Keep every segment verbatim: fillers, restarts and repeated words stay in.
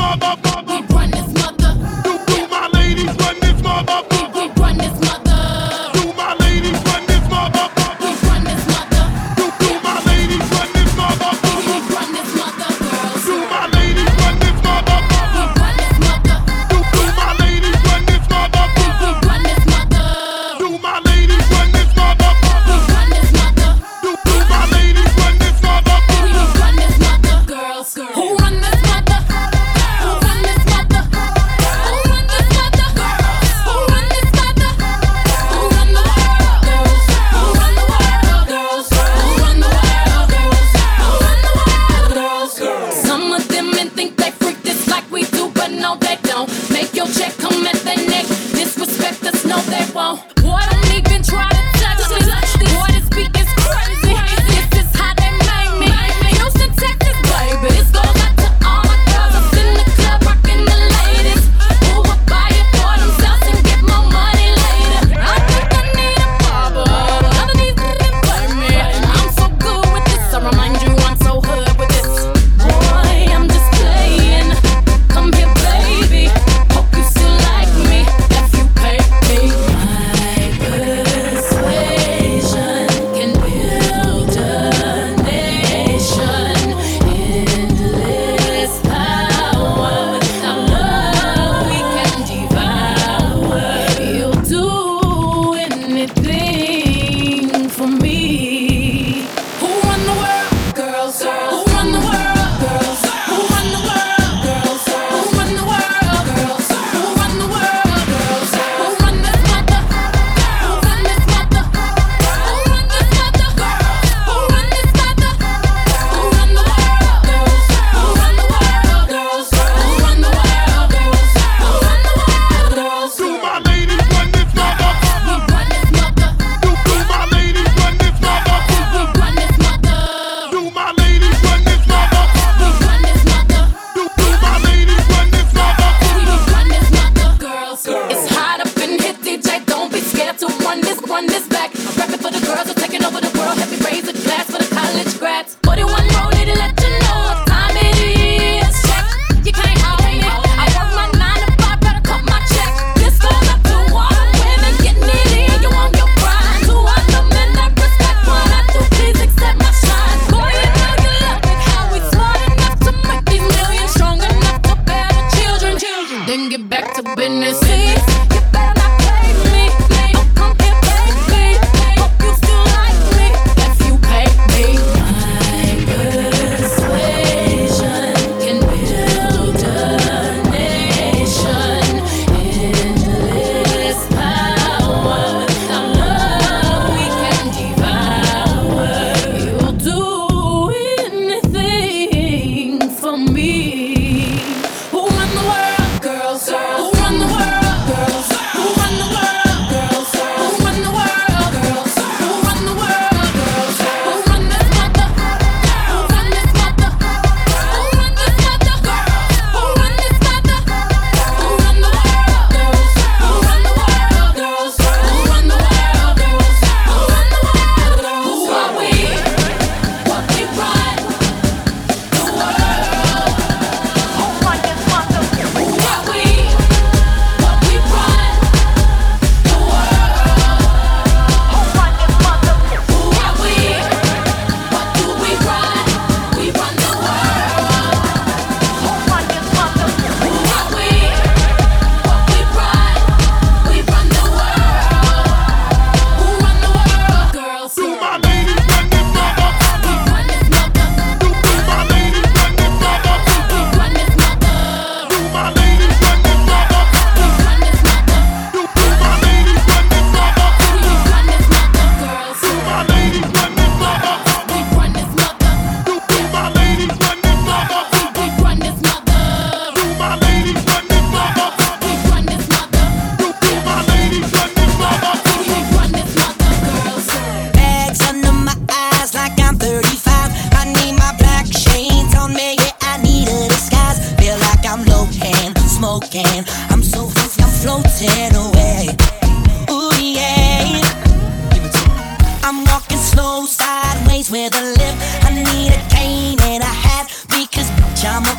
What we run, the world.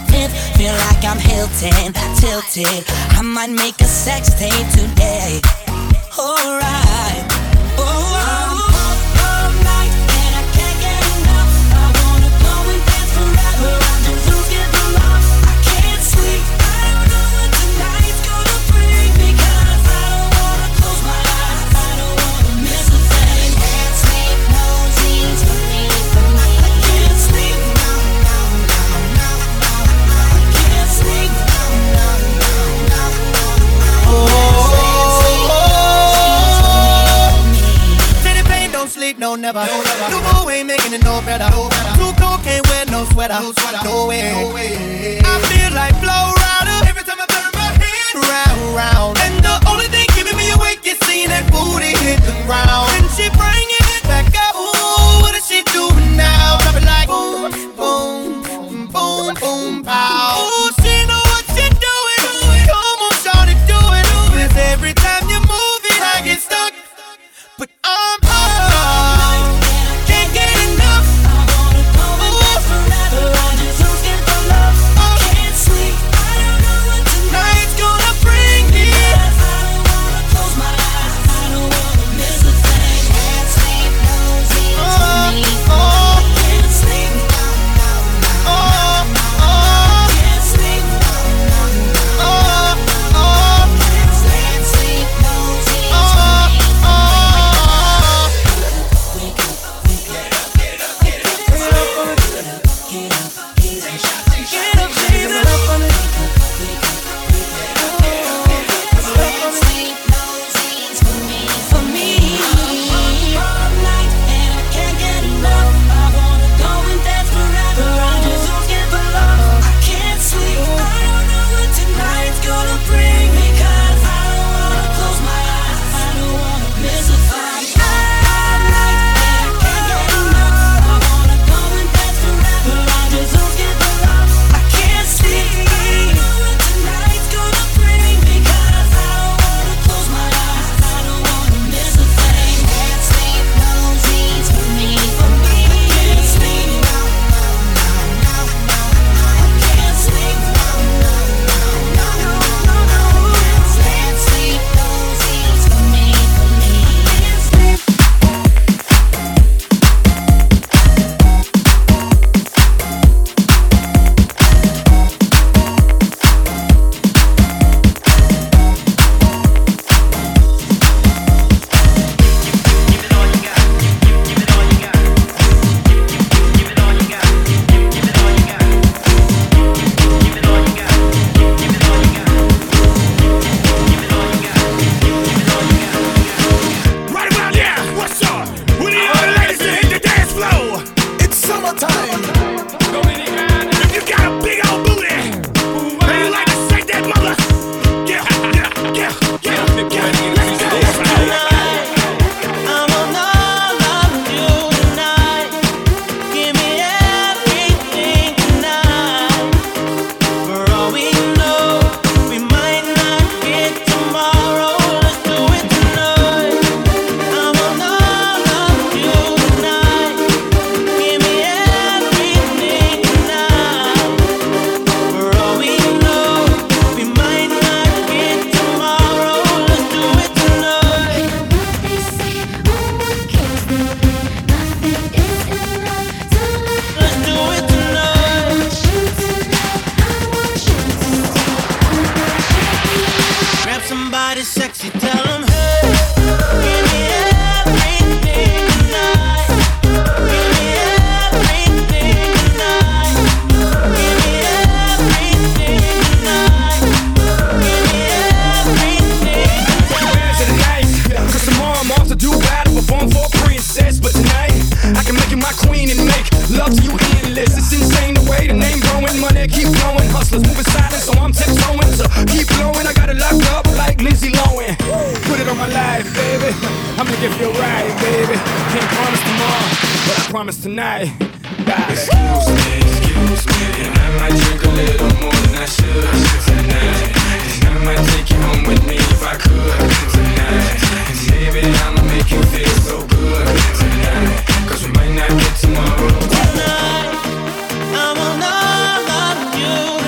fifth, feel like I'm Hilton, tilted. I might make a sex tape today. Alright. Oh, I'm up all night and I can't get enough. I wanna go and dance forever. I just don't get the love. I can't sleep. I don't know what tonight's gonna bring, because I don't wanna close my eyes. I don't wanna miss a thing. Can't sleep, no dreams for me, for me. I can't sleep. No, no, no, no, no, no. I can't sleep. No, no, no, no, no, no. Oh. Sleep, no never. No, never. New boo ain't making it no better. No better. Too cold, can't wear no sweater. No, sweater. No way. No way. I feel like Flow Rider every time I turn my head round, round. And the only thing keeping me awake is seeing that booty hit the ground. And she bringing it back up. Ooh, what is she doing now? Drop it like boom, boom, boom, boom, boom, pow. Ooh, she know what she doing. Come on, shawty, do it. Cause every time you move it, I get stuck. But I'm promise tonight. God. Excuse me, excuse me, and I might drink a little more than I should tonight. And I might take you home with me if I could tonight. And maybe I'ma make you feel so good tonight. Cause we might not get tomorrow. Tonight, I will not love you.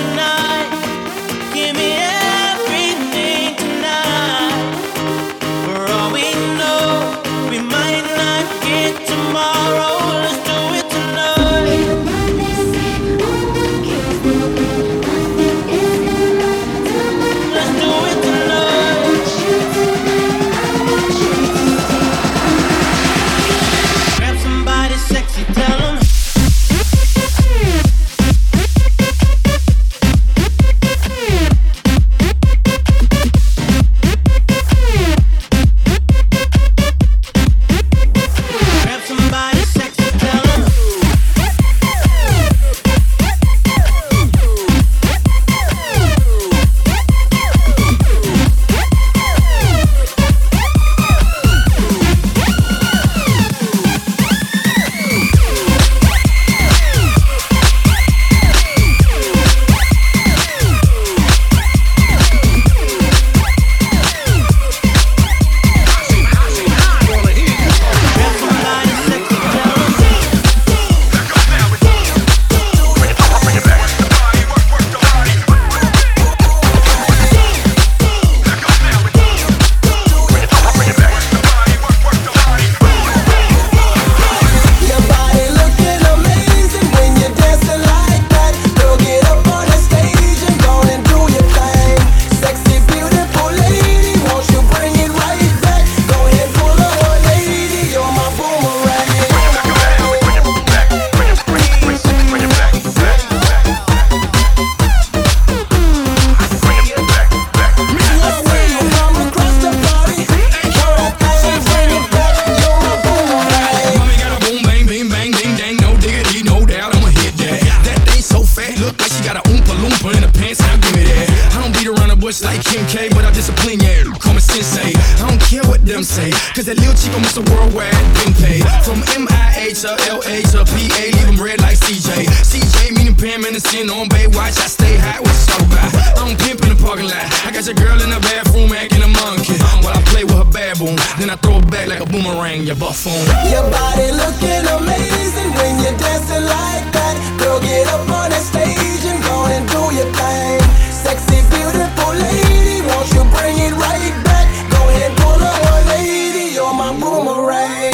pooper in the pants, now give me that. I don't beat around the bush like Kim K, but I discipline ya. Call me sensei. I don't care what them say, cause that little chico Mister Worldwide been paid. From M I A to L A to P A, leave them red like C J. C J meaning Pam Anderson on Baywatch. I stay high, what you talk about? I don't pimp in the parking lot. I got your girl in the bathroom acting a monkey while I play with her baboon. Then I throw it back like a boomerang, you buffoon. Your body looking amazing when you're dancing like that. Girl, get up on that stage and go and do your thing. Sexy, beautiful lady, won't you bring it right back? Go ahead, pull up, one lady, you're my boomerang.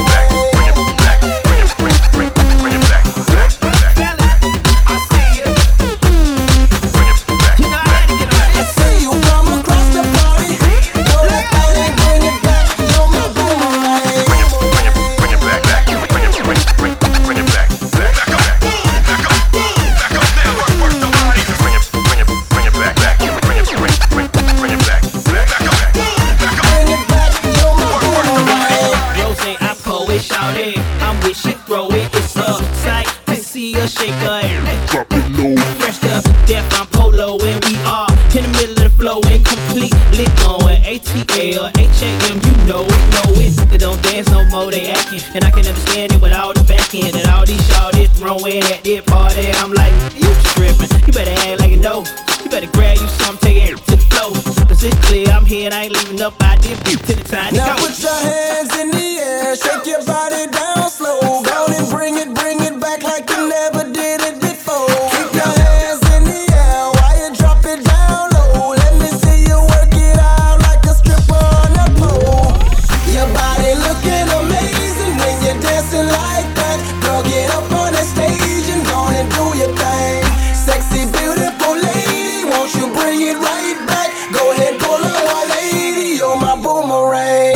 And I can understand it with all the back end and all these shawties throwing at their party. I'm like, you tripping? You better act like you know. You better grab you something, take it to the flow. Cause it's clear I'm here and I ain't leaving up. I did beat to the time to now go. Put your hands in the air, shake your body down slow. Go and bring it, bring it back like you never did it before. Keep your hands in the air while you drop it down low. Let me see you work it out like a stripper on a pole. Your body looking amazing when you're dancing like that. Girl, get up on that stage and go and do your thing. Sexy, beautiful lady, won't you bring it right back? Go ahead, pull up, one lady, you're my boomerang.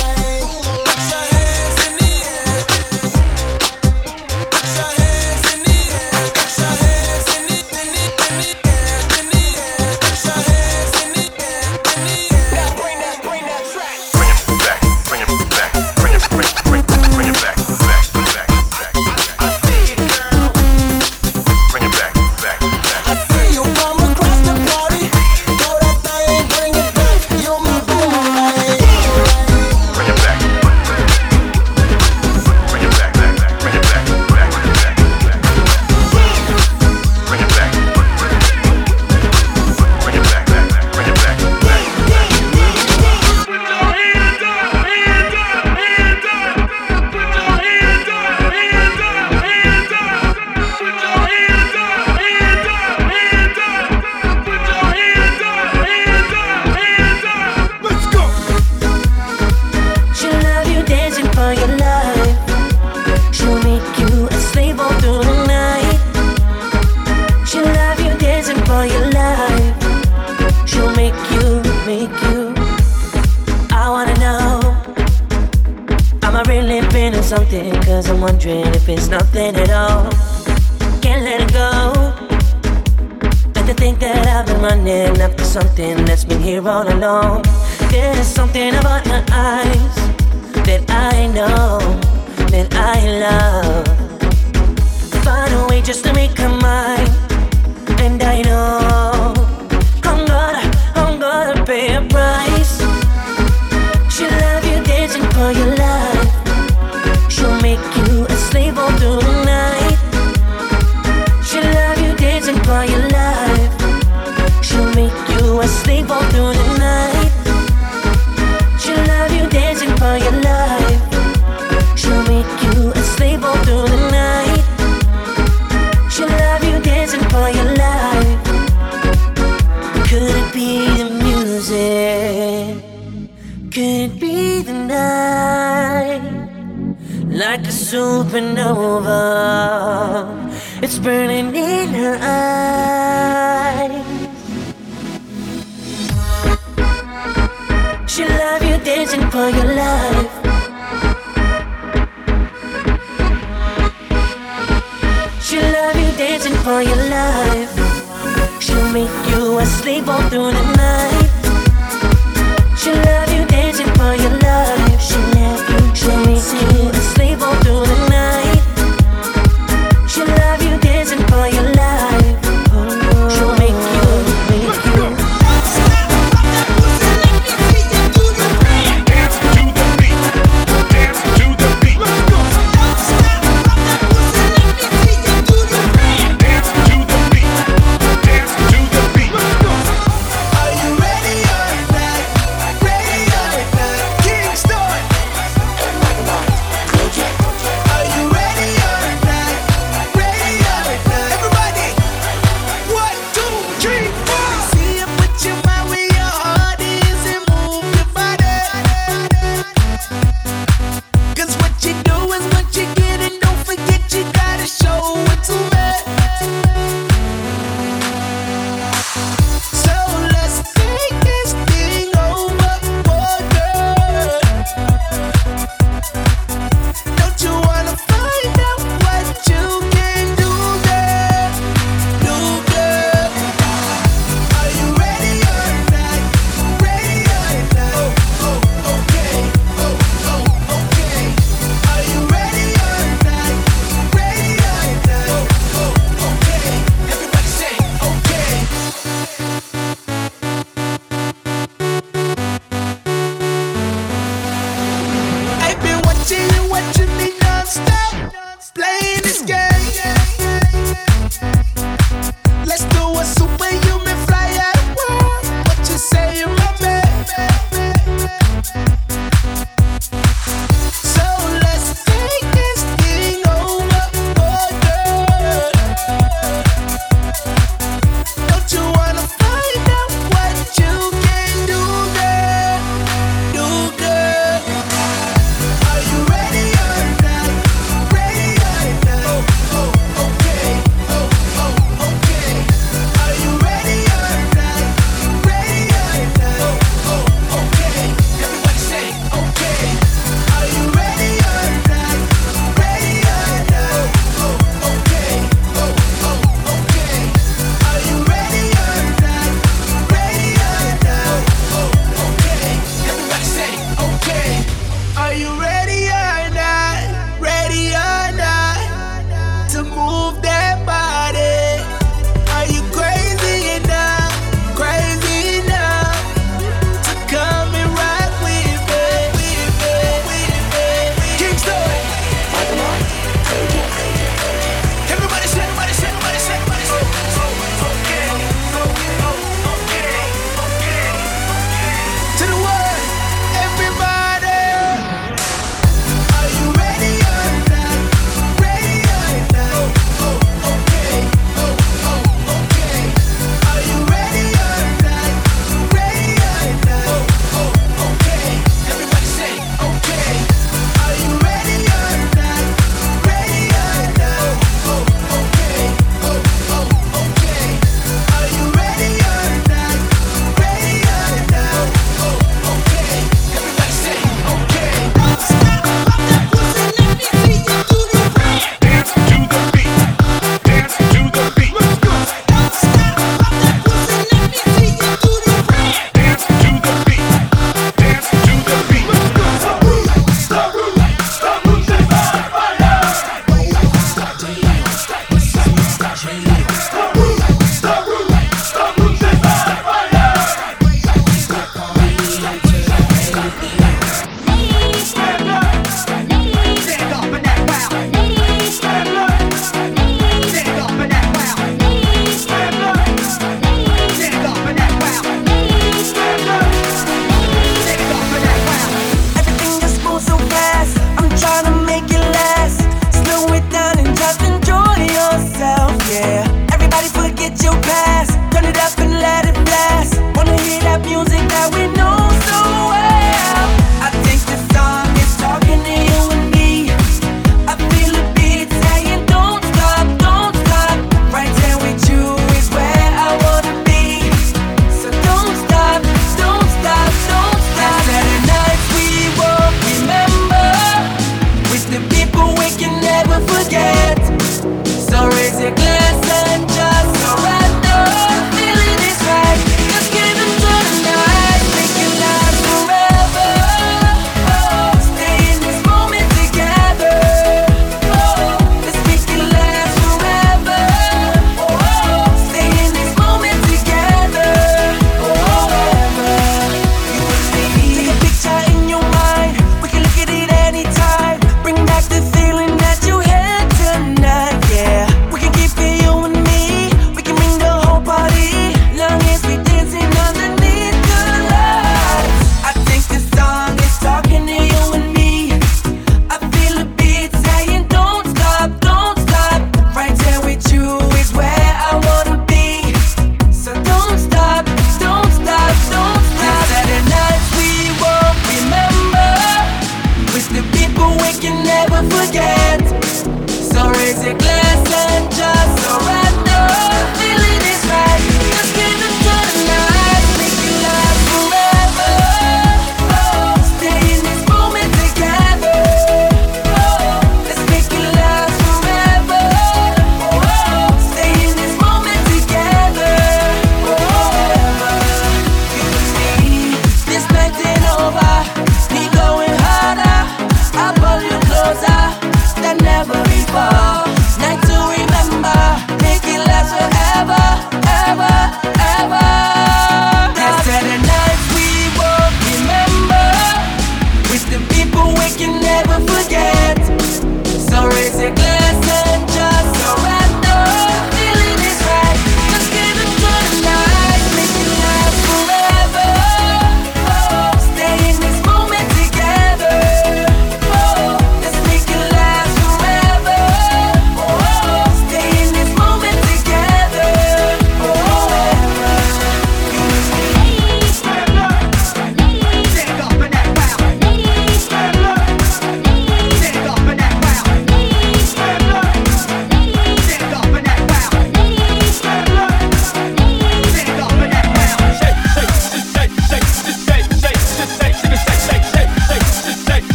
Something, cause I'm wondering if it's nothing at all. Can't let it go. But to think that I've been running after something that's been here all along. There's something about my eyes that I know, that I love. Find a way just to make her mine. And I know I'm gonna, I'm gonna pay a price. She'll love you dancing for your life. She'll make you a slave all through the night. She'll love you dancing for your life. She'll make you a slave all through the night. She'll love you dancing for your life. She'll make you a slave all through the night. She'll love you dancing for your life. Could it be the music? Could it be the night? Like a supernova, it's burning in her eyes. She'll love you dancing for your life. She'll love you dancing for your life. She'll make you a slave all through the night. She'll love you dancing for your life. She'll love you, she'll make you a slave all through the night. She'll love you dancing for your life. Oh, she'll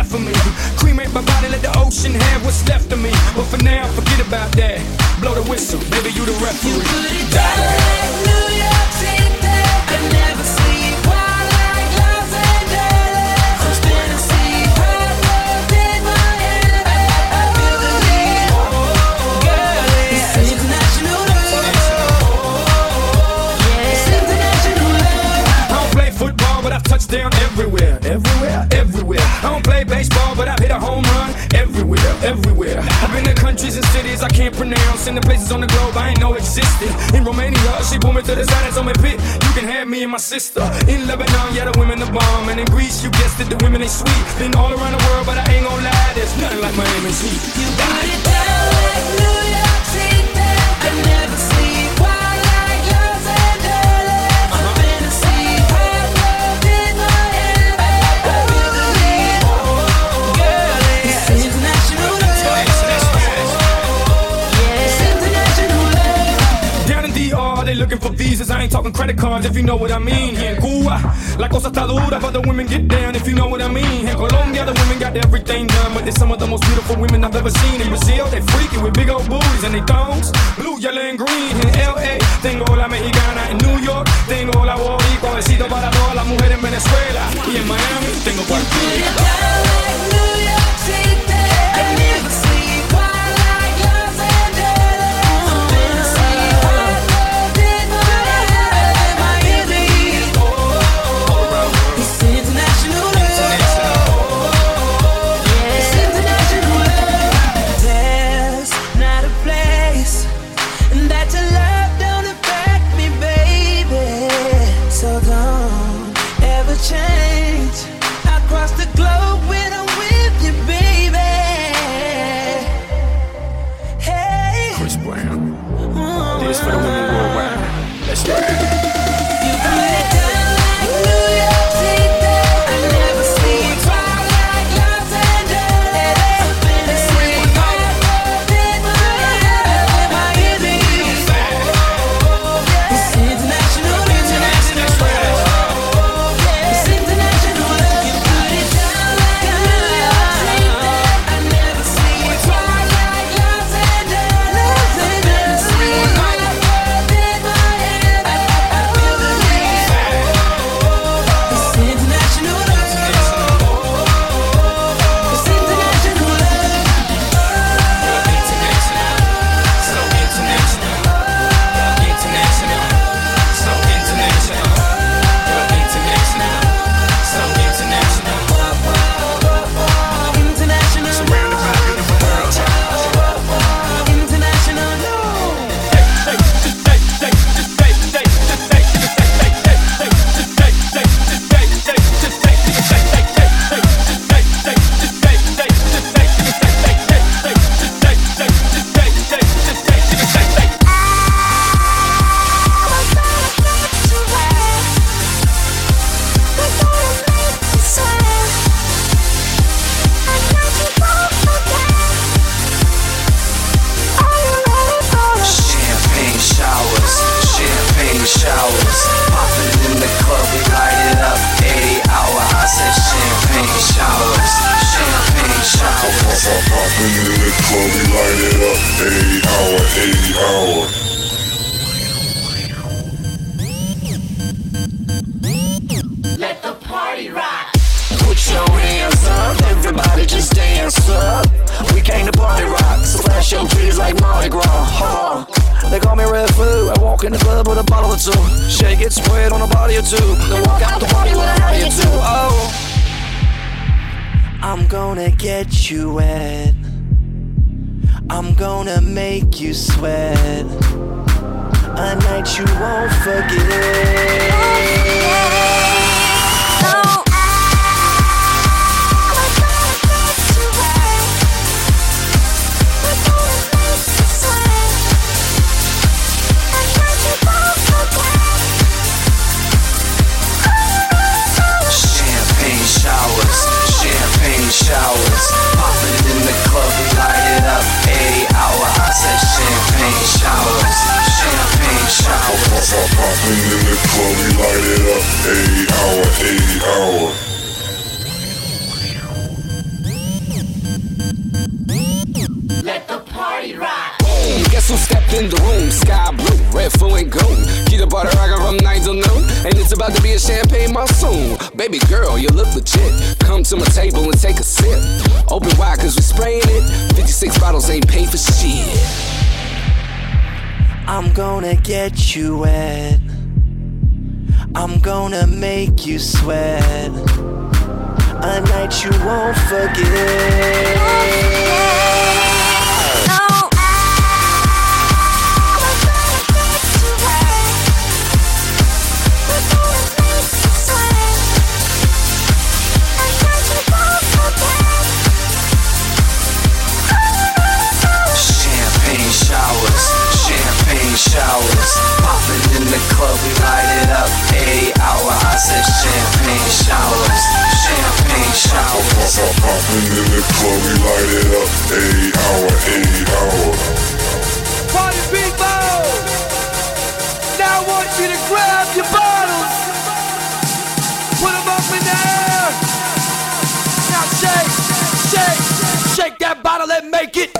left for me. Cremate my body, let the ocean have what's left of me. But for now, forget about that. Blow the whistle, baby, you the referee. You put it down like New York City. I never sleep while like Los Angeles. I'm spinning sea, hot blood in my head. I feel the heat, girl. It's international love. It's international love. I don't play football, but I've touched down everywhere, everywhere, everywhere. I don't play baseball, but I've hit a home run everywhere, everywhere. I've been to countries and cities I can't pronounce, and the places on the globe I ain't know existed. In Romania, she pulled me to the side and told me, "Pit, you can have me and my sister." In Lebanon, yeah, the women the bomb, and in Greece, you guessed it, the women they sweet. Been all around the world, but I ain't gon' lie, there's nothing like Miami's heat. You put it down like New York City. I never sleep while like Los Angeles. I'm spinning sea, hot blood in my head. I feel the heat, girl. It's international love. It's international love. Down in D R, they looking for visas. I ain't talking credit cards, if you know what I mean. Here in Cuba, la cosa está dura, but the women get down, if you know what I mean. In Colombia, the women got everything done, but they're some of the most beautiful women I've ever seen. In Brazil, they freaky with big old booties and they thongs, blue, yellow, and green. In L A, tengo la mexicana. In New York, tengo la boricua. Besito para todas las mujeres en Venezuela. Y en Miami, tengo cualquiera. Down like New York City. I never sleep while like Los Angeles. I'm spinning sea, hot blood in my head. Miami, it's international love. It's international love. There's not a place that your love don't affect me, baby. So don't ever change. I cross the globe when I'm with you, baby. Hey. Chris Brown, Mm. this for the women worldwide. Let's ride. You put it down like New York City. I never sleep while like Los Angeles. I'm spinning sea, hot blood in my head. Miami, it's international love. It's international love. You put it down like New York City. I never sleep while like Los Angeles. I'm spinning sea, hot blood in my head. I feel the heat. It's international love. It's international love. So international, international, so international, international, so international. International Surrounded by beautiful girls. International love. Champagne showers, champagne showers. Popping in the club, we light it up. eighty hour, I said champagne showers, champagne showers. Popping in the club, we light it up. eighty hour, eighty hour. Put your hands up, everybody just dance up. We came to party rock, so flash your titties like Mardi Gras. Huh. They call me Red Foo. I walk in the club with a bottle or two. Shake it, spread on a body or two. Then walk out the party with a howdy or two. Oh, I'm gonna get you wet. I'm gonna make you sweat. A night you won't forget. Champagne showers, champagne showers. Popping in the club, we light it up. eighty hour, I said champagne showers, champagne showers. Popping in the club, we light it up. eighty hour, eighty hour. in the room, sky blue, red, full and gold. Keep the party rockin' from nine till noon, and it's about to be a champagne monsoon. Baby girl, you look legit. Come to my table and take a sip. Open wide cause we spraying it. fifty-six bottles ain't paid for shit. I'm gonna get you wet. I'm gonna make you sweat. A night you won't forget. Champagne showers, champagne showers. Popping in the club, we light it up. Every hour, I said champagne showers, champagne showers. Popping in the club, we light it up. Every hour, every hour. Party people! Now I want you to grab your bottles. Put them up in the air. Now shake, shake, shake that bottle and make it.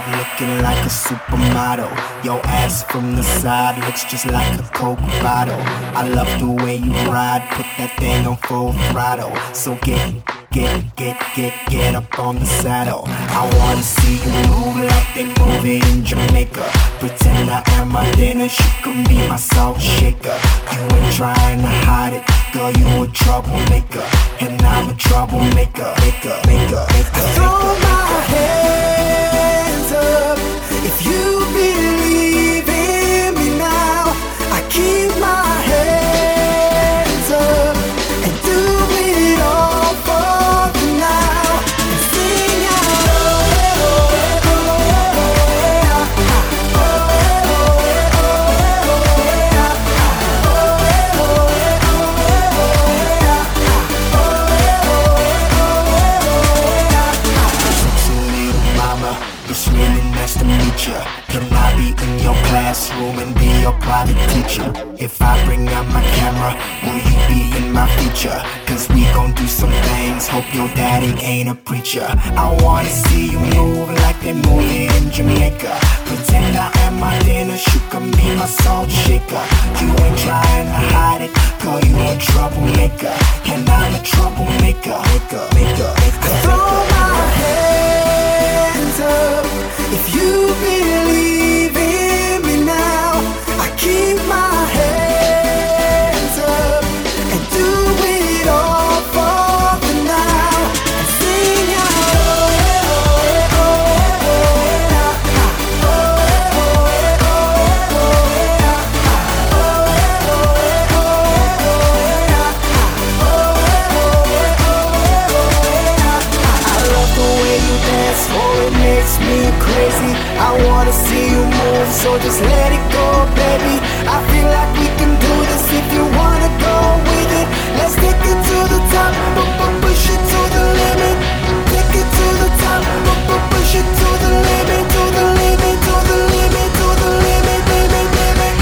looking like a supermodel. Your ass from the side looks just like a Coke bottle. I love the way you ride, put that thing on full throttle. So get, get, get, get, get up on the saddle. I wanna see you move like they move it in Jamaica. Pretend I am my Dennis, you can be my salt shaker. You ain't trying to hide it, girl, you a troublemaker. And I'm a troublemaker, maker, maker, maker. Throw my hands up if you believe in me now. I keep my hands up and do it all for you now. And sing out, oh, oh, oh, oh, oh, oh, it's really nice to meet ya. Can I be in your classroom and be your private teacher? If I bring out my camera, will you be in my feature? Cause we gon' do some things, hope your daddy ain't a preacher. I wanna see you move like they move it in Jamaica. Pretend I am my dinner, you can be my salt shaker. You ain't trying to hide it, girl, you a troublemaker. And I'm a troublemaker, maker, maker, maker. Throw my hands up if you believe in me now. I keep my hands up and do it all for the now. And sing out, oh, oh, oh, oh, I love the way you dance, oh, it makes me crazy. I wanna see you move, so just let it go, baby. I feel like we can do this if you wanna go with it. Let's take it to the top, but push it to the limit. Take it to the top, but push it to the limit, to the limit, to the limit, to the limit, limit, limit.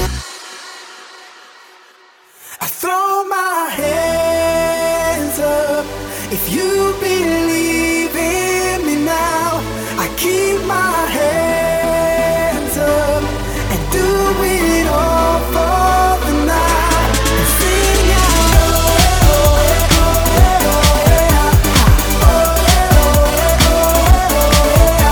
I throw my hands up if you believe in me now. I keep my hands up and do it all for the night. And sing out, oh, oh, oh, oh, oh, oh, oh, oh, oh,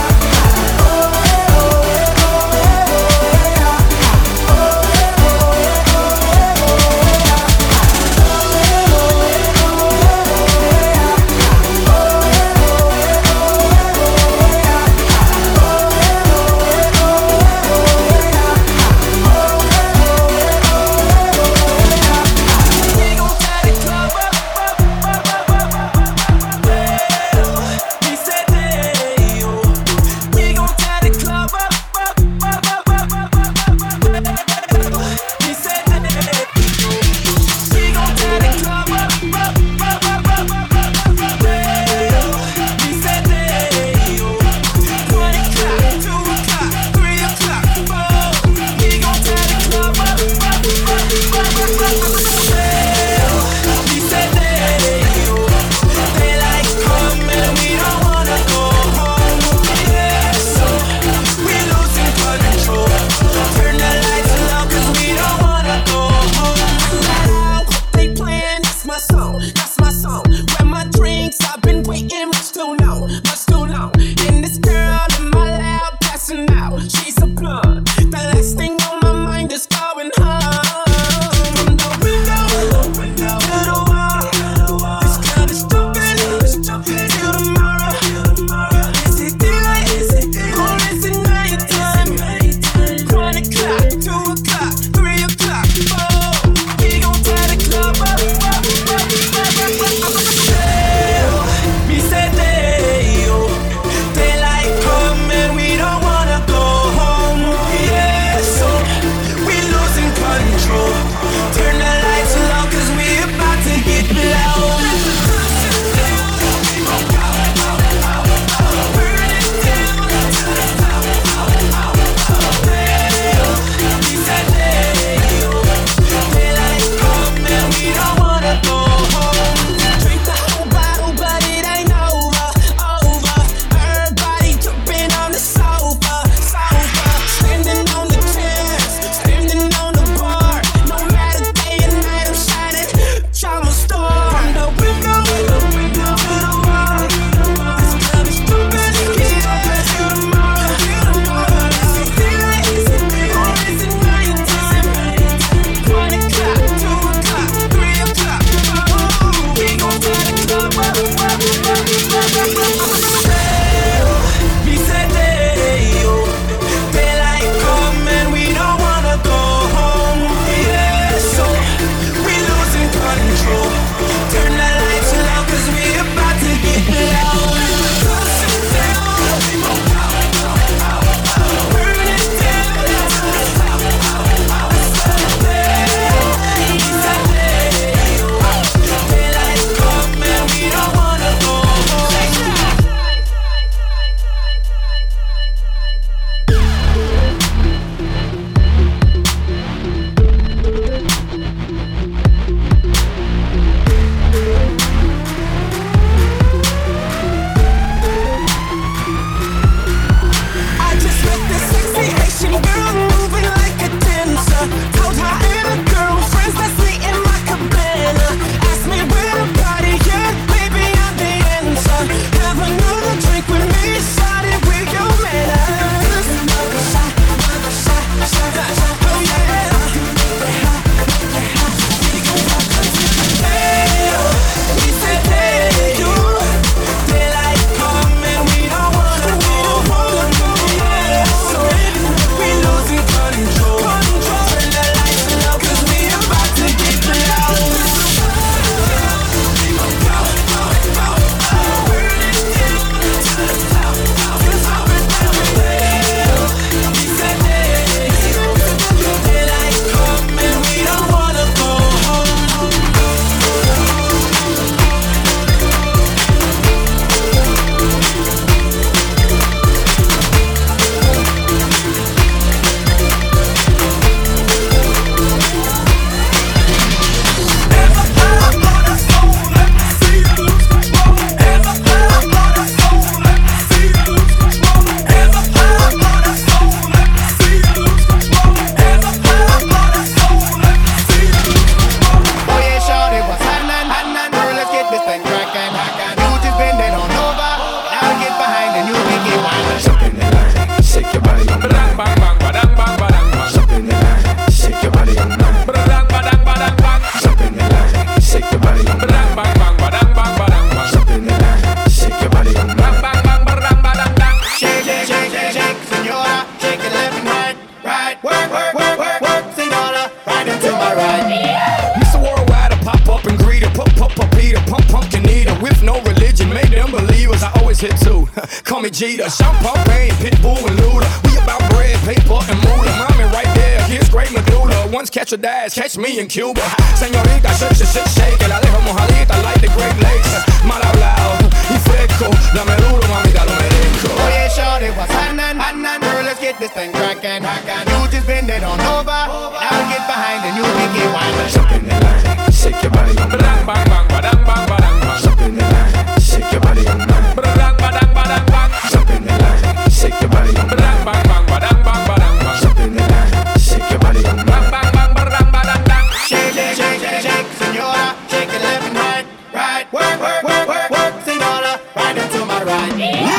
Jeter, Sean Pain, Pitbull and Luda. We about bread, paper, and moolah. Mommy right there, kids great medulla. Once catch a dash, catch me in Cuba. Señorita, shake, shake, shake, shake. La dejo mojadita like the Great Lakes. Mal hablado y fresco, dame duro, mamita, lo merezco. Oh yeah, shorty, what's happening? Happening, girl, let's get this thing crackin'. You just bend it on over. Now get behind and you make it wine. Jump in the line, shake your body on mine. Bang, bang, badang, bang, badang, bang. Jump in the line, shake your body on mine. Badang, badang, badang, bang. Jump in the line, shake your body on mine. Bang, bang, bang, badang, bang, badang, bang. Jump in the line, shake your body on mine. Bang, bang, bang, badang, badang, bang. Shake, shake, shake, shake, shake, senora. Shake it left and right, right. Work, work, work, work, work, senora. Right into my right.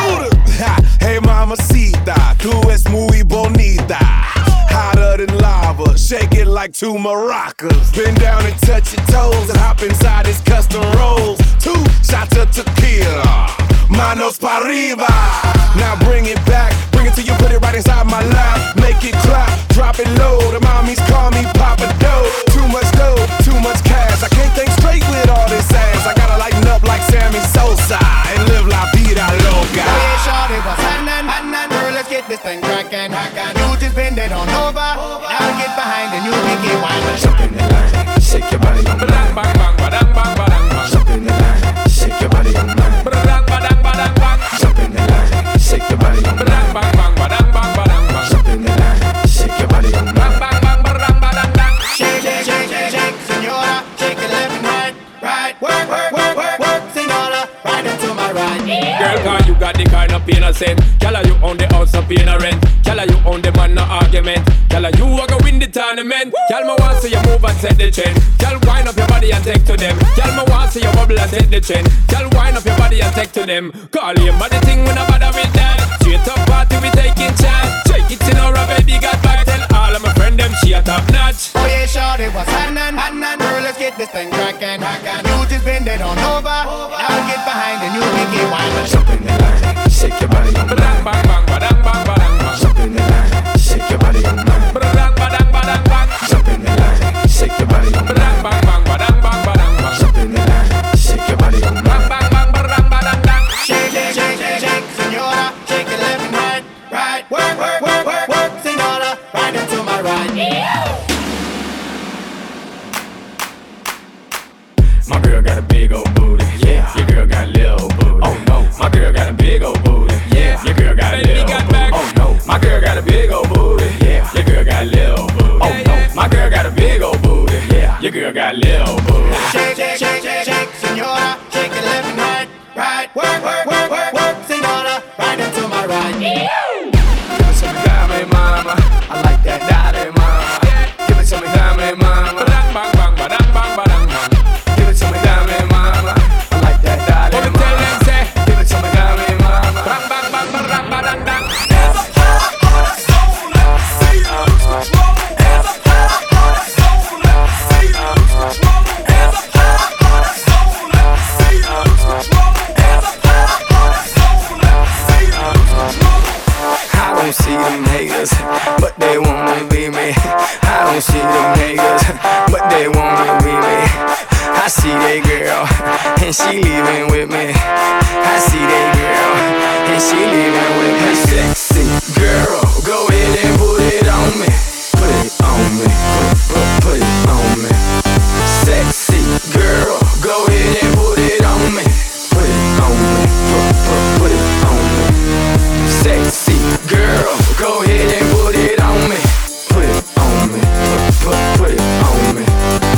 Hey mamacita, tú es muy bonita. Hotter than lava, shake it like two maracas. Bend down and touch your toes and hop inside his custom rolls. Two shots of tequila, manos pa' arriba. Now bring it back, bring it till you put it right inside my lap. Make it clap, drop it low. The mommies call me Papa Doe. Too much dough, too much cash. I can't think straight with all this ass. I gotta lighten up like Sammy Sosa and live la vida loca. Hey, shorty, what's happening? Happening, girl, let's get this thing crackin'. You just bend it on over. Now get behind and you make it wine. Jump in the line, shake your body on mine. Bang, bang, bang, badang, bang, badang, bang. Jump in the line, shake your body on mine. Badang, badang, badang, bang. Jump in the line, shake your body on mine. Bang, bang, bang, badang, bang, badang, bang. Jump in the line, shake your body on mine. Bang, bang, bang, badang, badang, bang. Shake, shake, shake, shake, shake, senora. Shake it left and right, right. Work, work, work, work, work, senora. Right into my right. Girl, cause you got the kind of pain I said. Girl, you own the house of paying a rent. Girl, you own the man, no argument. Girl, you are gonna win the tournament. Girl, me want see you move and set the trend. Girl, wind up your body and take to them. Girl, me want see you bubble and set the trend. Girl, wind up your body and take to them. Call him body thing when I bother with that. Straight up party we taking chance. Shake it in our baby got back. Tell all of my friend them she a top notch. Oh yeah, shorty, what's happening? Happening, girl, let's get this thing crackin'. You just bend it on over. Now get behind and you make it wine. Jump in the line, shake your body on mine. Bang, bang, bang, badang, bang, badang, bang. Jump in the line, shake your body on mine. Badang, badang, badang, bang. Jump in the line, shake your body on mine. Bang, bang, bang, badang, bang, badang, bang. Jump in the line, shake your body on mine. Bang, bang, bang, badang, badang, bang. Shake, shake, shake, shake, shake, senora. Shake it left and right, right. Work, work, work, work, work, senora. Right into my right. My girl got a big old booty. Yeah. Your girl got a little booty. Oh no. My girl got a big old booty. Yeah. Your girl got a little booty. Oh no. My girl got a big old booty. Yeah. Your girl got a little booty. Oh no. My girl got a big old booty. Yeah. Your girl got a little booty. Shake, shake, shake, shake, shake, senora. Shake it left and right, right. Work, work, work, work, work, senora. Right into my right. Give it to me, dame, mama. I like that, dale, mama. Give it to me, dame, mama. Bang, bang, bang, badang, bang, badang, bang. Give it to me, dame, mama. I like that, dale, mama. Tell them, say, give it to me, dame, mama. Bang, bang, bang, badang, badang, bang. There's a heart on the soul, see you lose control. There's a heart on the soul, see you lose control. There's a heart on the soul, see you lose control. There's a heart on the soul, see you lose control. I don't see them haters, but they wanna be me. I don't see them haters, but they wanna be me. I see that girl, and she leaving with me. I see that girl, and she leaving with me. Sexy girl, go ahead and put it on me. Put it on me, put, put, put it on me. Sexy girl, go ahead and put it on me. Put it on me, put, put, put it on me. Sexy girl, go ahead and put it on me. Put it on me, put, put, put it on me.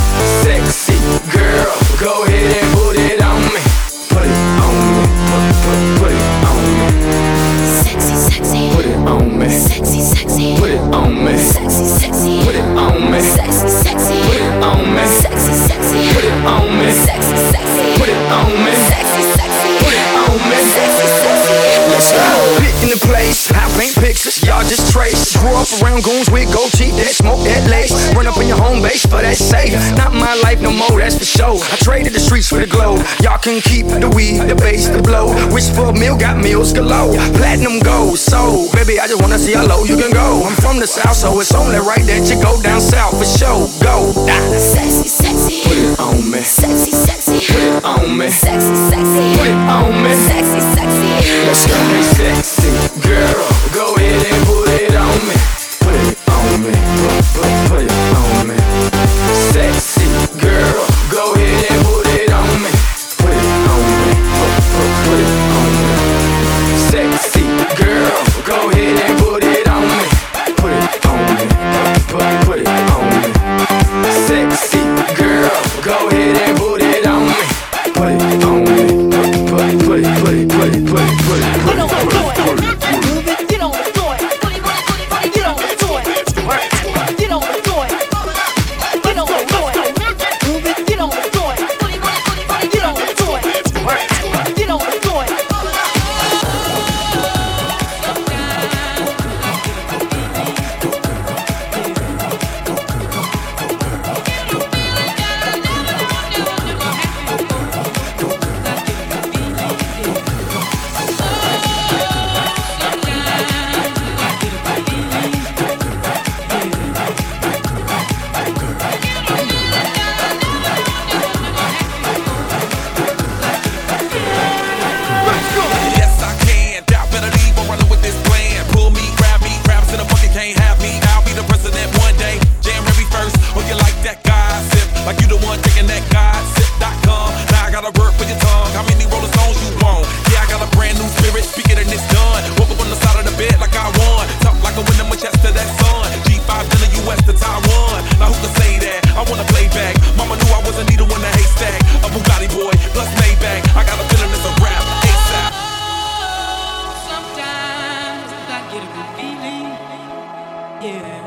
Sexy girl, go ahead and put it on me. Put it on me, put, put, put it on me. Sexy, sexy. Put it on me. Sexy, sexy. Put it on me. Sexy, sexy. Put it on me. Sexy, sexy. Put it on me. Sexy, sexy. Put it on me. Sexy, sexy. Put it on me. Sexy, sexy. Put it on me. Sexy, sexy. Let's go. Picking the place, I paint pictures, y'all just trace. Grew up around goons with gold teeth that smoke that lace. Run up in your home base for that safe. Not my life. life no more, that's for sure. I traded the streets for the glow. Y'all can keep the weed, the bass, the blow. Wish for a meal, got meals galore. Platinum gold, so baby, I just wanna see how low you can go. I'm from the south, so it's only right that you go down south for sure. Go down. Sexy, sexy. Put it on me. Sexy, sexy. Put it on me. Sexy, sexy. Put it on me. Sexy, sexy. Let's go. Hey, sexy girl, go ahead and put it on me. Put it on me. Put, put, put it on me. Sexy girl, go ahead and put it on me. Put it on me. Put, put, put it on me. Sexy girl, go ahead and put it on me. Put it on me. Put, put, put it on me. Sexy girl, go ahead and put it on me. Put it on me. Put, put, put it, put it, put it, put it, put it, put it, put it, put it, put it. Move it, get on the joint. Get on the joint. Get on the joint. Get on the joint. Move it, get on the joint. Get on the joint. Get on the joint. Yes, I can. Doubt better leave. I'm running with this plan. Pull me, grab me, raps in a bucket can't have me. I'll be the president one day. Jam every verse. Oh, you like that gossip? Like you the one taking that gossip dot com. Now I gotta work for your tongue. How many Rolling Stones you want? Yeah, I got a brand new spirit. Speak it and it's done. Woke up on the side of the bed like I won. Talk like a winner, my chest to that sun. G five to the U S to Taiwan. Now who can say that? I wanna play back. Mama knew I wasn't needle in the haystack. A Bugatti boy, plus Maybach. I got a feeling it's a rap. ASAP. Sometimes I get a good feeling, yeah.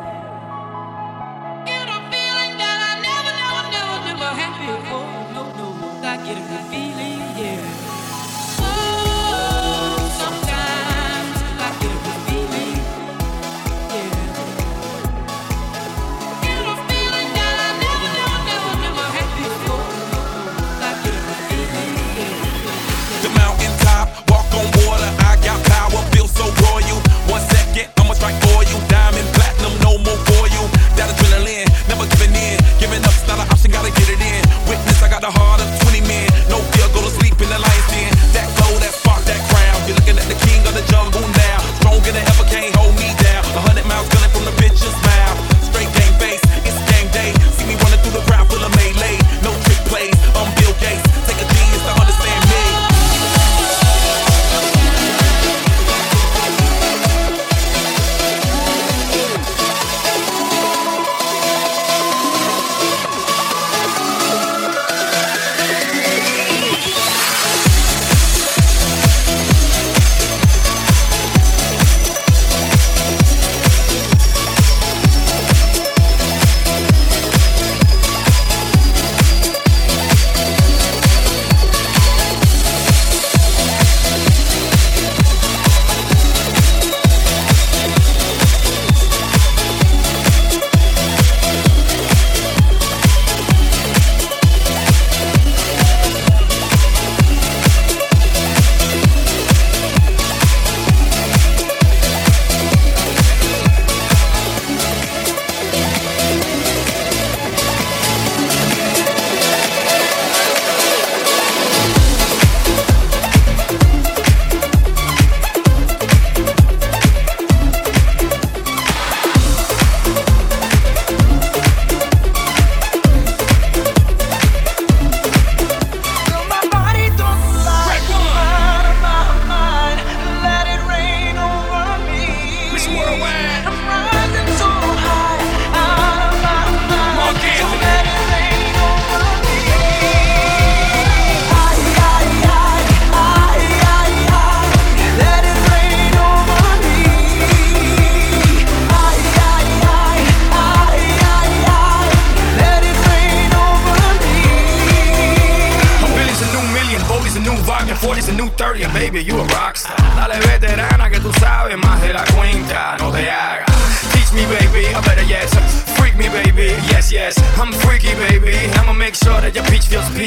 Get a feeling that I never, never, never, never had before. No, no, I get a good feeling, yeah. Oh, sometimes I get a good feeling, yeah. Get a feeling that I never, never, never, never had before. No, no, I get a good feeling, yeah. The mountaintop, walk on water. I got power, feel so royal. One second, I'ma strike oil. Diamond, platinum, no more for you. That adrenaline, never giving in. Giving up's not an option, gotta get it in. Witness, I got the heart of twenty men. No fear, go to sleep in the lion's den. That glow, that spark, that crown. You're looking at the king of the jungle now. Stronger than ever, can't hold me down. A hundred miles gunning from the bitch's mouth. Straight game face, it's game day. See me running through the crowd full of melee. No trick plays, I'm Bill Gates. Take a genius to understand me. forty's a new thirty, and baby, you a rockstar. Dale veterana que tú sabes más de la cuenta, no te hagas. Teach me, baby, I better yes. Freak me, baby, yes, yes. I'm freaky, baby. I'm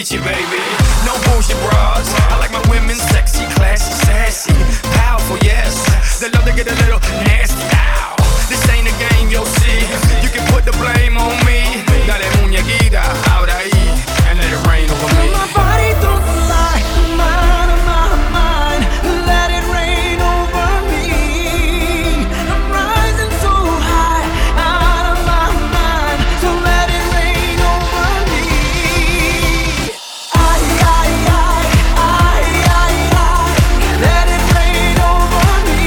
teach you, baby. No bullshit bras. I like my women sexy, classy, sassy, powerful, yes. They love to get a little nasty. Ow. This ain't a game, you'll see. You can put the blame on me. Dale muñequita, ahora ahí, and let it rain over me. My body don't lie, mine, mine, mine. Let it rain over me. I'm rising so high, out of my mind. So let it rain over me. I, I, I, I, I, I. Let it rain over me.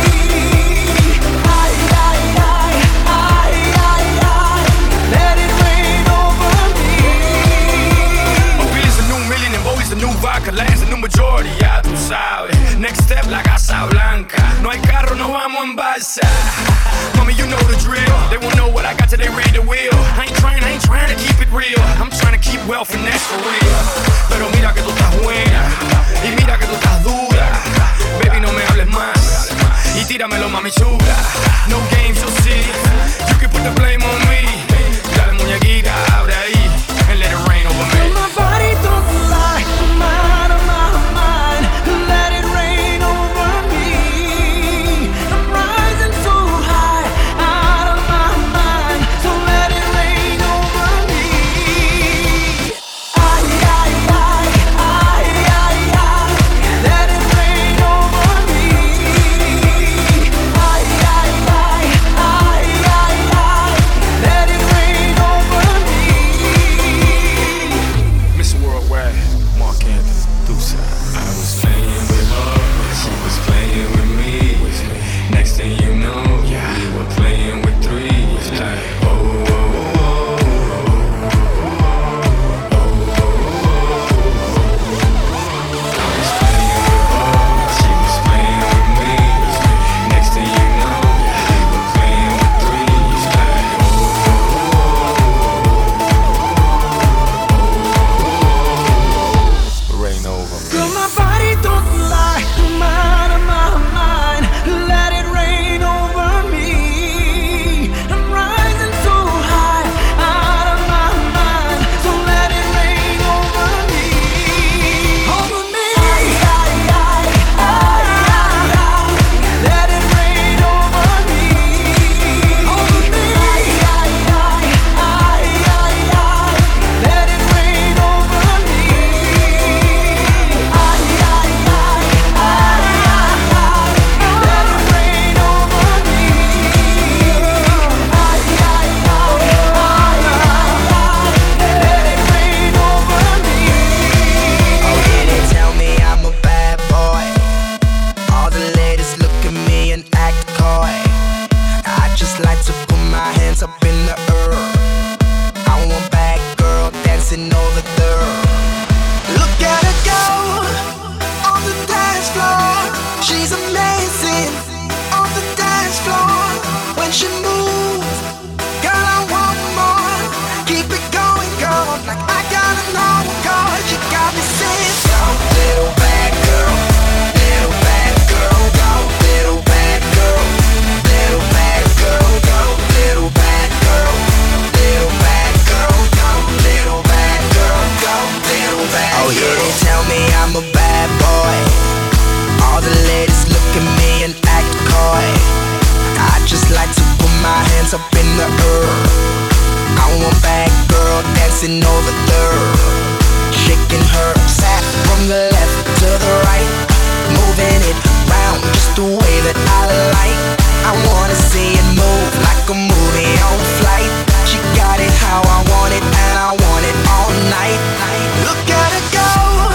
I, I, I, I, I, I. Let it rain over me. Billy's a new million and Bowie's a new vodka. Land's a new majority, ya tú sabes. Next step, la Casa Blanca. No hay carro, no vamos en balsa. Mommy, you know the drill. They won't know what I got till they read the wheel. I ain't trying, I ain't trying to keep it real. I'm trying to keep wealth and that's for real. Pero mira que tú estás buena y mira que tú estás dura. Baby, no me hables más y tíramelo, mami chula. No games, you'll see. You can put the blame on me. Dale muñequita, ahora ahí, and let it rain over me. My body don't lie, mine, mine, mine. Let it rain over me. I'm rising so high, out of my mind. So let it rain over me. I, I, I, I, I, I. Let it rain over me. I, I, I, I, I, I. Let it rain over me. Mister Worldwide, Mark Anthony, Deuce. I was playing with her, she was playing with me. Next thing you know, we were playing with three. Like, oh, oh, oh, oh, oh, I was playing with her, she was playing with me. Next thing you know, we were playing with three. Like, oh, oh, Rain over me. Girl, my body don't lie, mine, mine, mine. Let it rain over me. I'm rising so high, out of my mind. So let it rain over me. Over me. I, I, I, I, I. Let it rain over me. Over me. I, I, I, I, I. Let it rain over me. I, I, I, I, I, I. Let it rain over me. I, I, I, I, I. Let it rain over me. Oh yeah, they tell me I'm a bad boy. All the ladies look at me and act coy. I just like to put my hands up in the air. I want bad girl dancing over there. Look at her go on the dance floor. She's amazing on the dance floor. When she moves, girl, I want more. Keep it going, girl, like I gotta know, cause you got me saying, go, little bad girl, little bad girl, go, little bad girl, little bad girl, go, little bad girl, little bad girl, go, little bad girl, go, little bad girl. Oh yeah, they tell me I'm a bad boy. All the ladies look at me and act coy. I just like to put my hands up in the air. I want bad girl dancing over there, shaking her sack from the left to the right, moving it round just the way that I like. I wanna see it move like a movie on flight. She got it how I want it, and I want it all night. Look at her go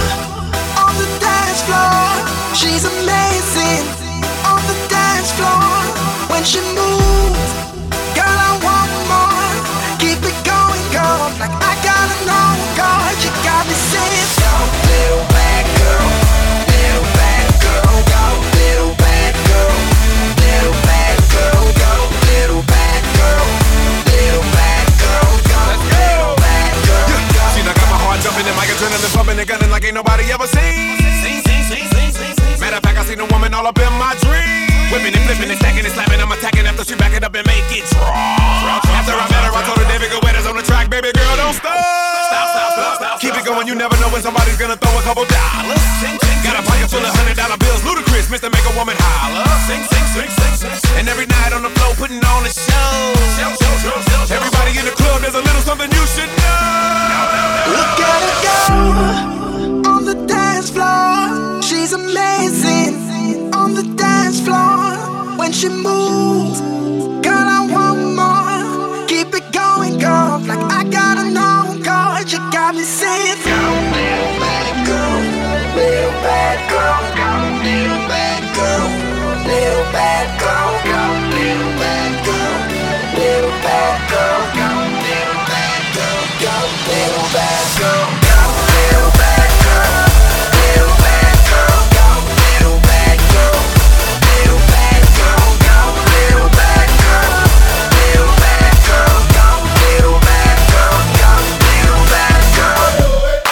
on the dance floor. She's amazing on the dance floor. When she moves, girl, I want more. Keep it going, girl, like I gotta know, God, you got me saying, go, little bad girl, little bad girl, go, little bad girl, little bad girl, go, little bad girl, little bad girl, go, little bad girl, go. See, I got my heart jumping and my adrenaline pumping and gunning like ain't nobody ever seen. Matter of fact, I seen a woman all up in my dreams. Whipping and flipping and stacking and slapping, I'm attacking after she back it up and make it drop. After I met her, I told her David Guetta's on the track, baby girl, don't stop. Stop, stop, stop, stop. Keep it going, you never know when somebody's gonna throw a couple dollars. Got a pocket full of hundred dollar bills, ludicrous, Mister Make a Woman holler. Sing, sing, sing, sing, sing. And every night on the floor, putting on a show. Everybody in the club, there's a little something you should know. Look at her go on the dance floor. She's amazing on the dance floor. When she moves, girl, I want more. Keep it going, girl, like I gotta know, girl. You got me saying, go, little bad girl, little bad girl, go, little bad girl, little bad girl, go, little bad girl, little bad girl, go, little bad girl, go, little bad girl, go, little bad girl, little bad girl, go, little bad girl, little bad girl, go, little bad girl, little bad girl, go, little bad girl, go, little bad girl.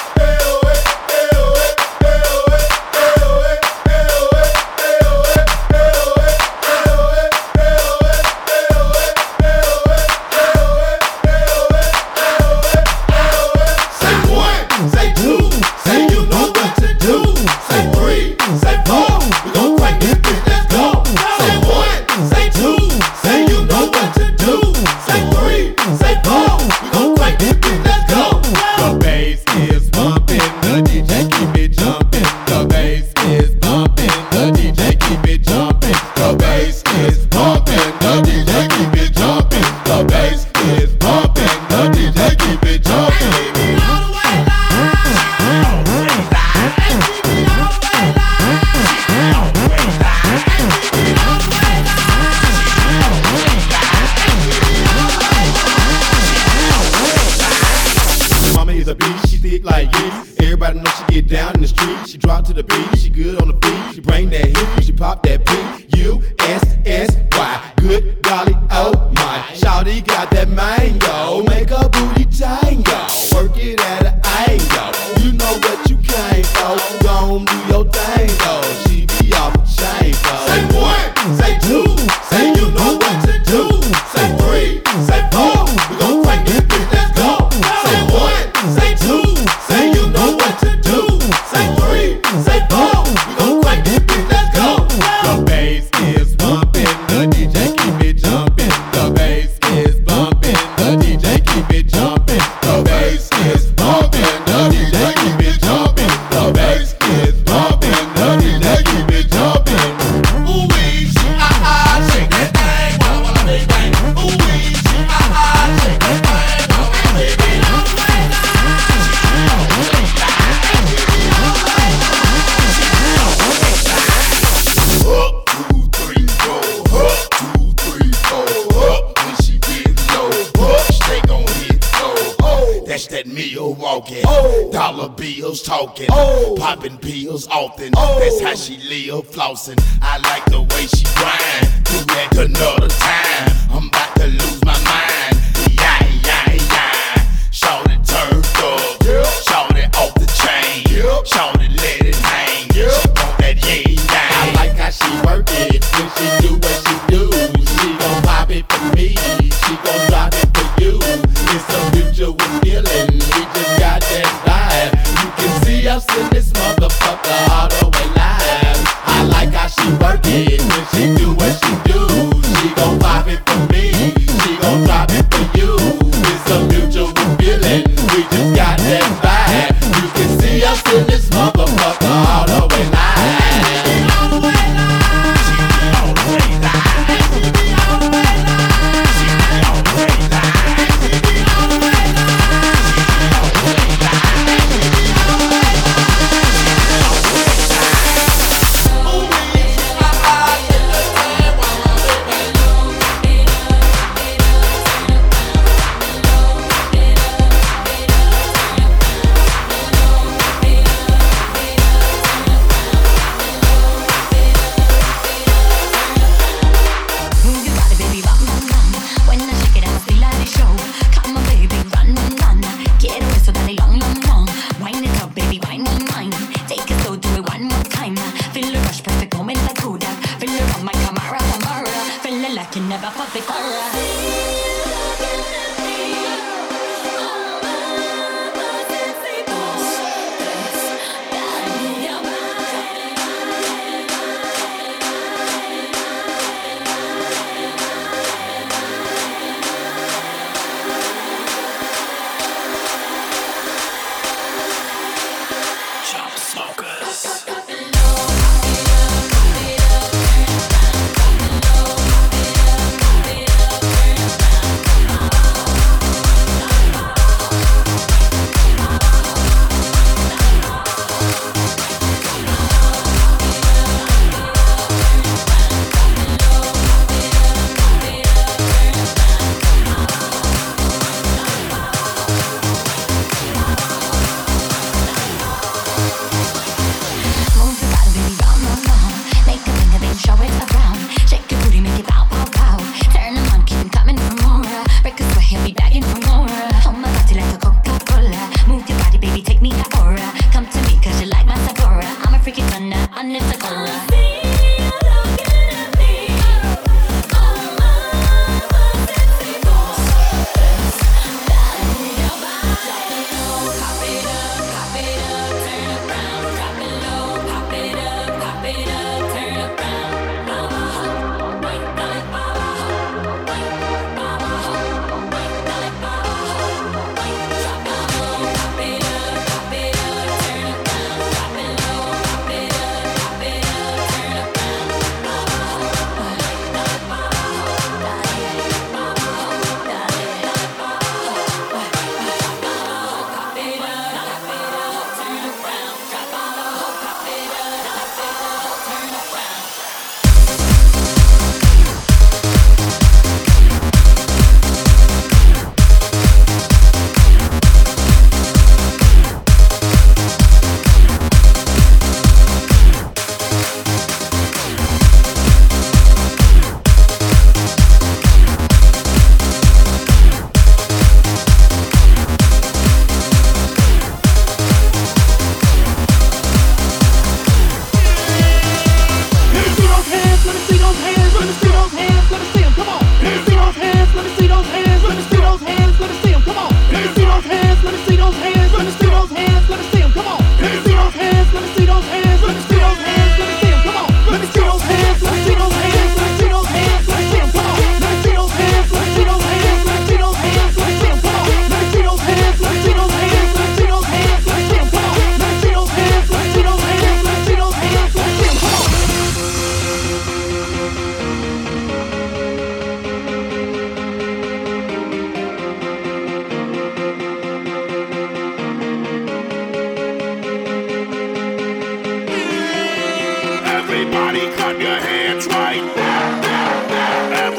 Talking, oh. Popping pills often. Oh. That's how she live, flossing. I like the way she grind. Do that another time. I'm about to lose my mind. Yeah, yeah, yeah. Shorty turned up. Yeah. Shorty off the chain. Yeah. Shorty let it hang. Yeah. She want that yeah, yeah. I like how she work it. When she do what she do, she gon' pop it for me. She gon' drop it for you. It's a mutual feeling. We just got that vibe. See us in this motherfucker all the way live. I like how she work it. When she do what she do, she gon' pop it for me. She gon' drop it for you. It's a mutual feeling. We just got that vibe. You can see us in this motherfucker all the way live. All the way live. She be all the way live. She be all the way live. She be all the way live. She be all the way live. She be all the way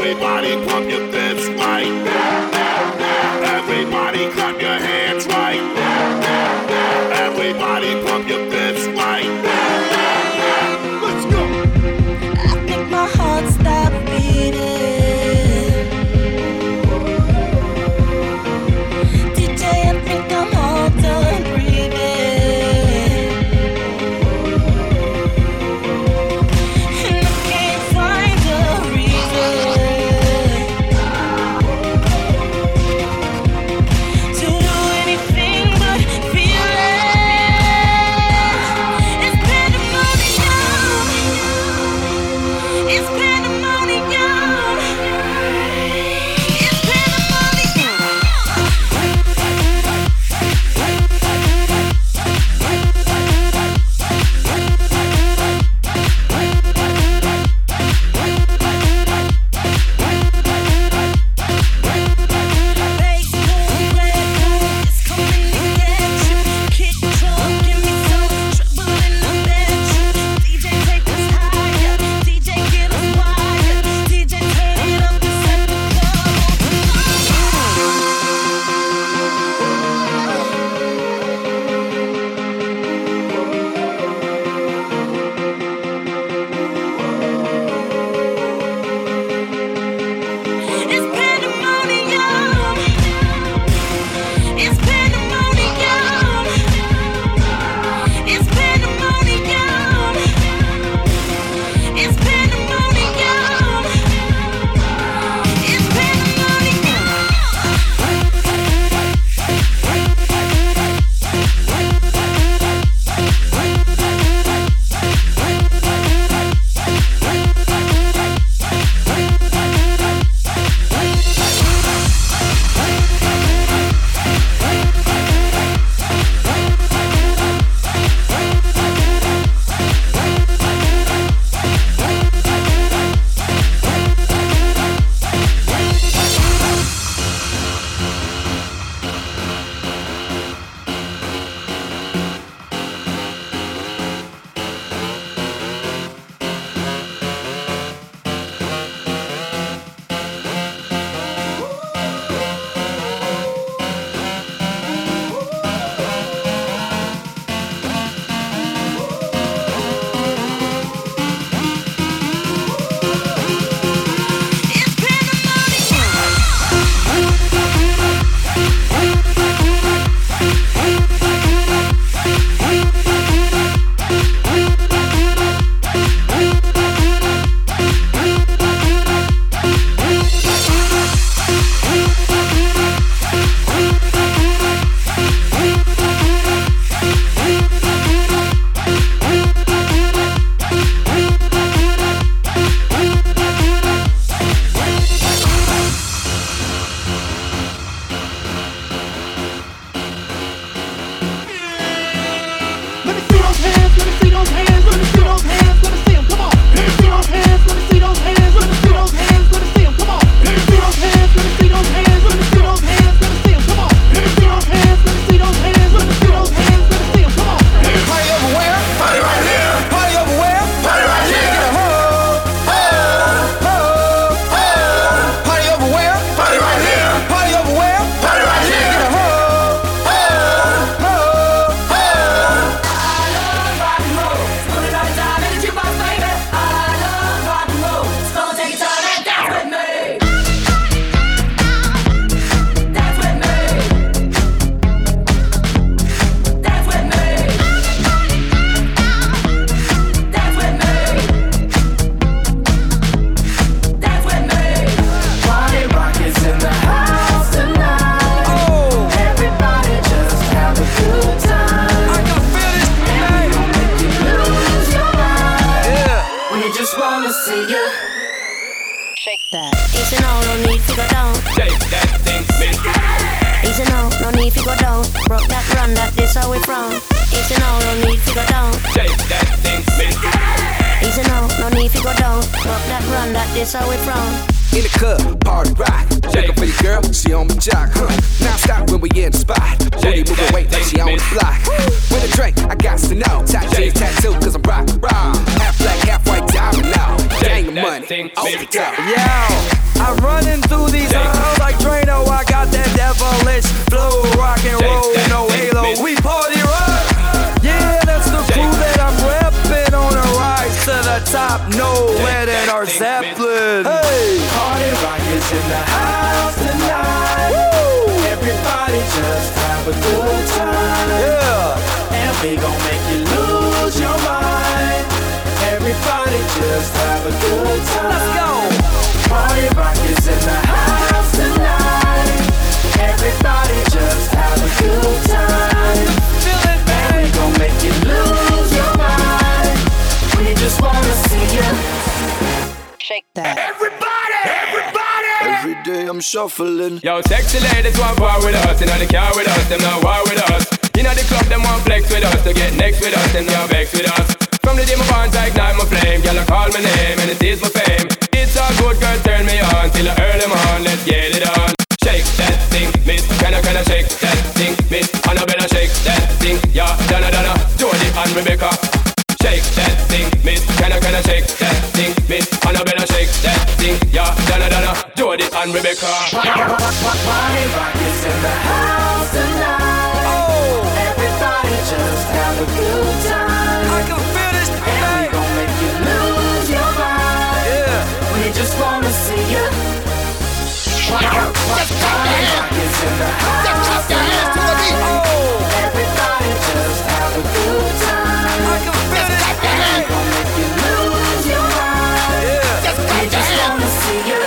Everybody pump your fists right. Everybody clap your hands right. Everybody pump your fists right. Let's go. I think my heart stopped beating. D J, I think I'm all done breathing. And I can't find a reason to do anything but feel it. It's pandemonium. It's pandemonium. It's pandemonium. Bass boom, red boom, it's coming to get you. Kick drum, give me some trouble in the bedroom. D J, take us higher. D J, get us wired. D J, turn it up and set the club It's pandemonium. It's pandemonium. It's pandemonium. It's pandemonium. It's Easy now, no need to go down. Shake that thing, miss. Easy now, no need to go down. Broke that run, that this how we from. Easy now, no need to go down. Shake that thing, miss. Easy now, no need to go down. Broke that run, that this how we from. In the club, party rock. Shake it for your girl, she on my jock. Huh. Now stop when we in the spot. Booty moving weight like she on the block. With a drink, I got to know. Top jeans tattoo, cause I'm rock, rock. Half black, half white, diamond now. Gang of money, off the top. Yo. I'm running through these halls like Drano. I got that devilish flow, rock and roll, no halo. We party rock. Yeah, that's the crew that I'm repping on a rise to the top. No lead in our Zeppelin. Hey, Party rock is in the house tonight. Woo! Everybody just have a good time. Yeah, and we gon' make you lose your mind. Everybody just have a good time. Let's go. Party rock is in the house tonight. Everybody just have a good time. Feel it, and we gon' make you lose your mind. We just wanna see you shake that. Everybody, everybody. Every day I'm shuffling. Yo, sexy ladies want war with us. Inna the car with us, them not war with us. Inna the club, them want flex with us. To get next with us, them not vex with us. From the day my bonds I ignite my flame. Girl, I call my name and it is my fame. It's all good, girl, turn me on till I earn them on. Let's get it on. Shake that thing, miss. Can I, can I shake that thing, miss? Annabella, shake that thing. Yeah, Donna, Donna, Jody and Rebecca. Shake that thing, miss. Can I, can I shake that thing, miss? Annabella, shake that thing. Yeah, Donna, Donna, Jody and Rebecca. Party rock is in the house tonight. Oh, everybody just have a good time. I can feel this and thing. we gon' make you lose your mind. Yeah, we just wanna see you. Party rock is in the house tonight. oh, Everybody just have a good time. I can feel this and we thing. gon' make you lose your mind. Yeah, We just wanna see you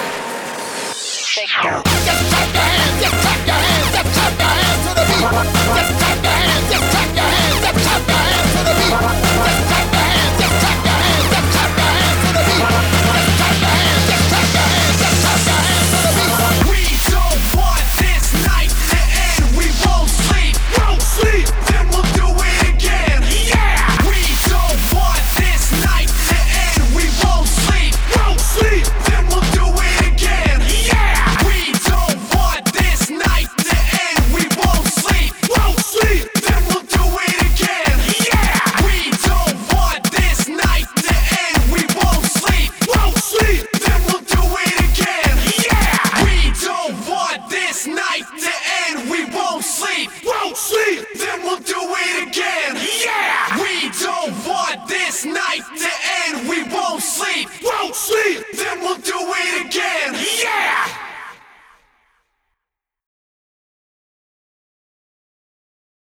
Shake that. Just clap your hands, just clap your hands, just clap your hands to the beat. Just clap your hands, just clap your hands, just clap your hands to the beat. Just clap your hands, just clap your hands, just clap your hands to the beat. Just clap your hands, just clap your hands, just clap your hands to the beat. We don't want this night to end. We won't sleep, won't sleep. Then we'll do it again. Yeah. We don't want this night to end. We won't sleep, won't sleep. Then we'll do it again. Yeah. We don't want this night to end. We won't sleep, won't sleep. Then we'll do it again. Yeah. We don't want this night to end. We won't sleep, won't sleep. Then we'll do it again. Yeah. We don't want this night to end. We won't sleep, won't sleep. Then we'll do it again. Yeah. We don't want this night to end. We won't sleep, won't sleep.